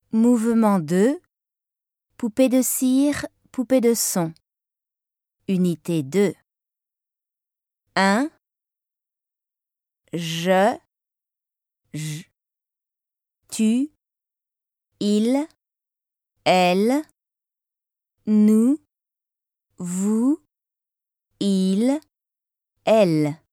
Mouvement 2. Poupée de cire, poupée de son. Unité 2. 1. Je, tu, il, elle, nous, vous, il, elle.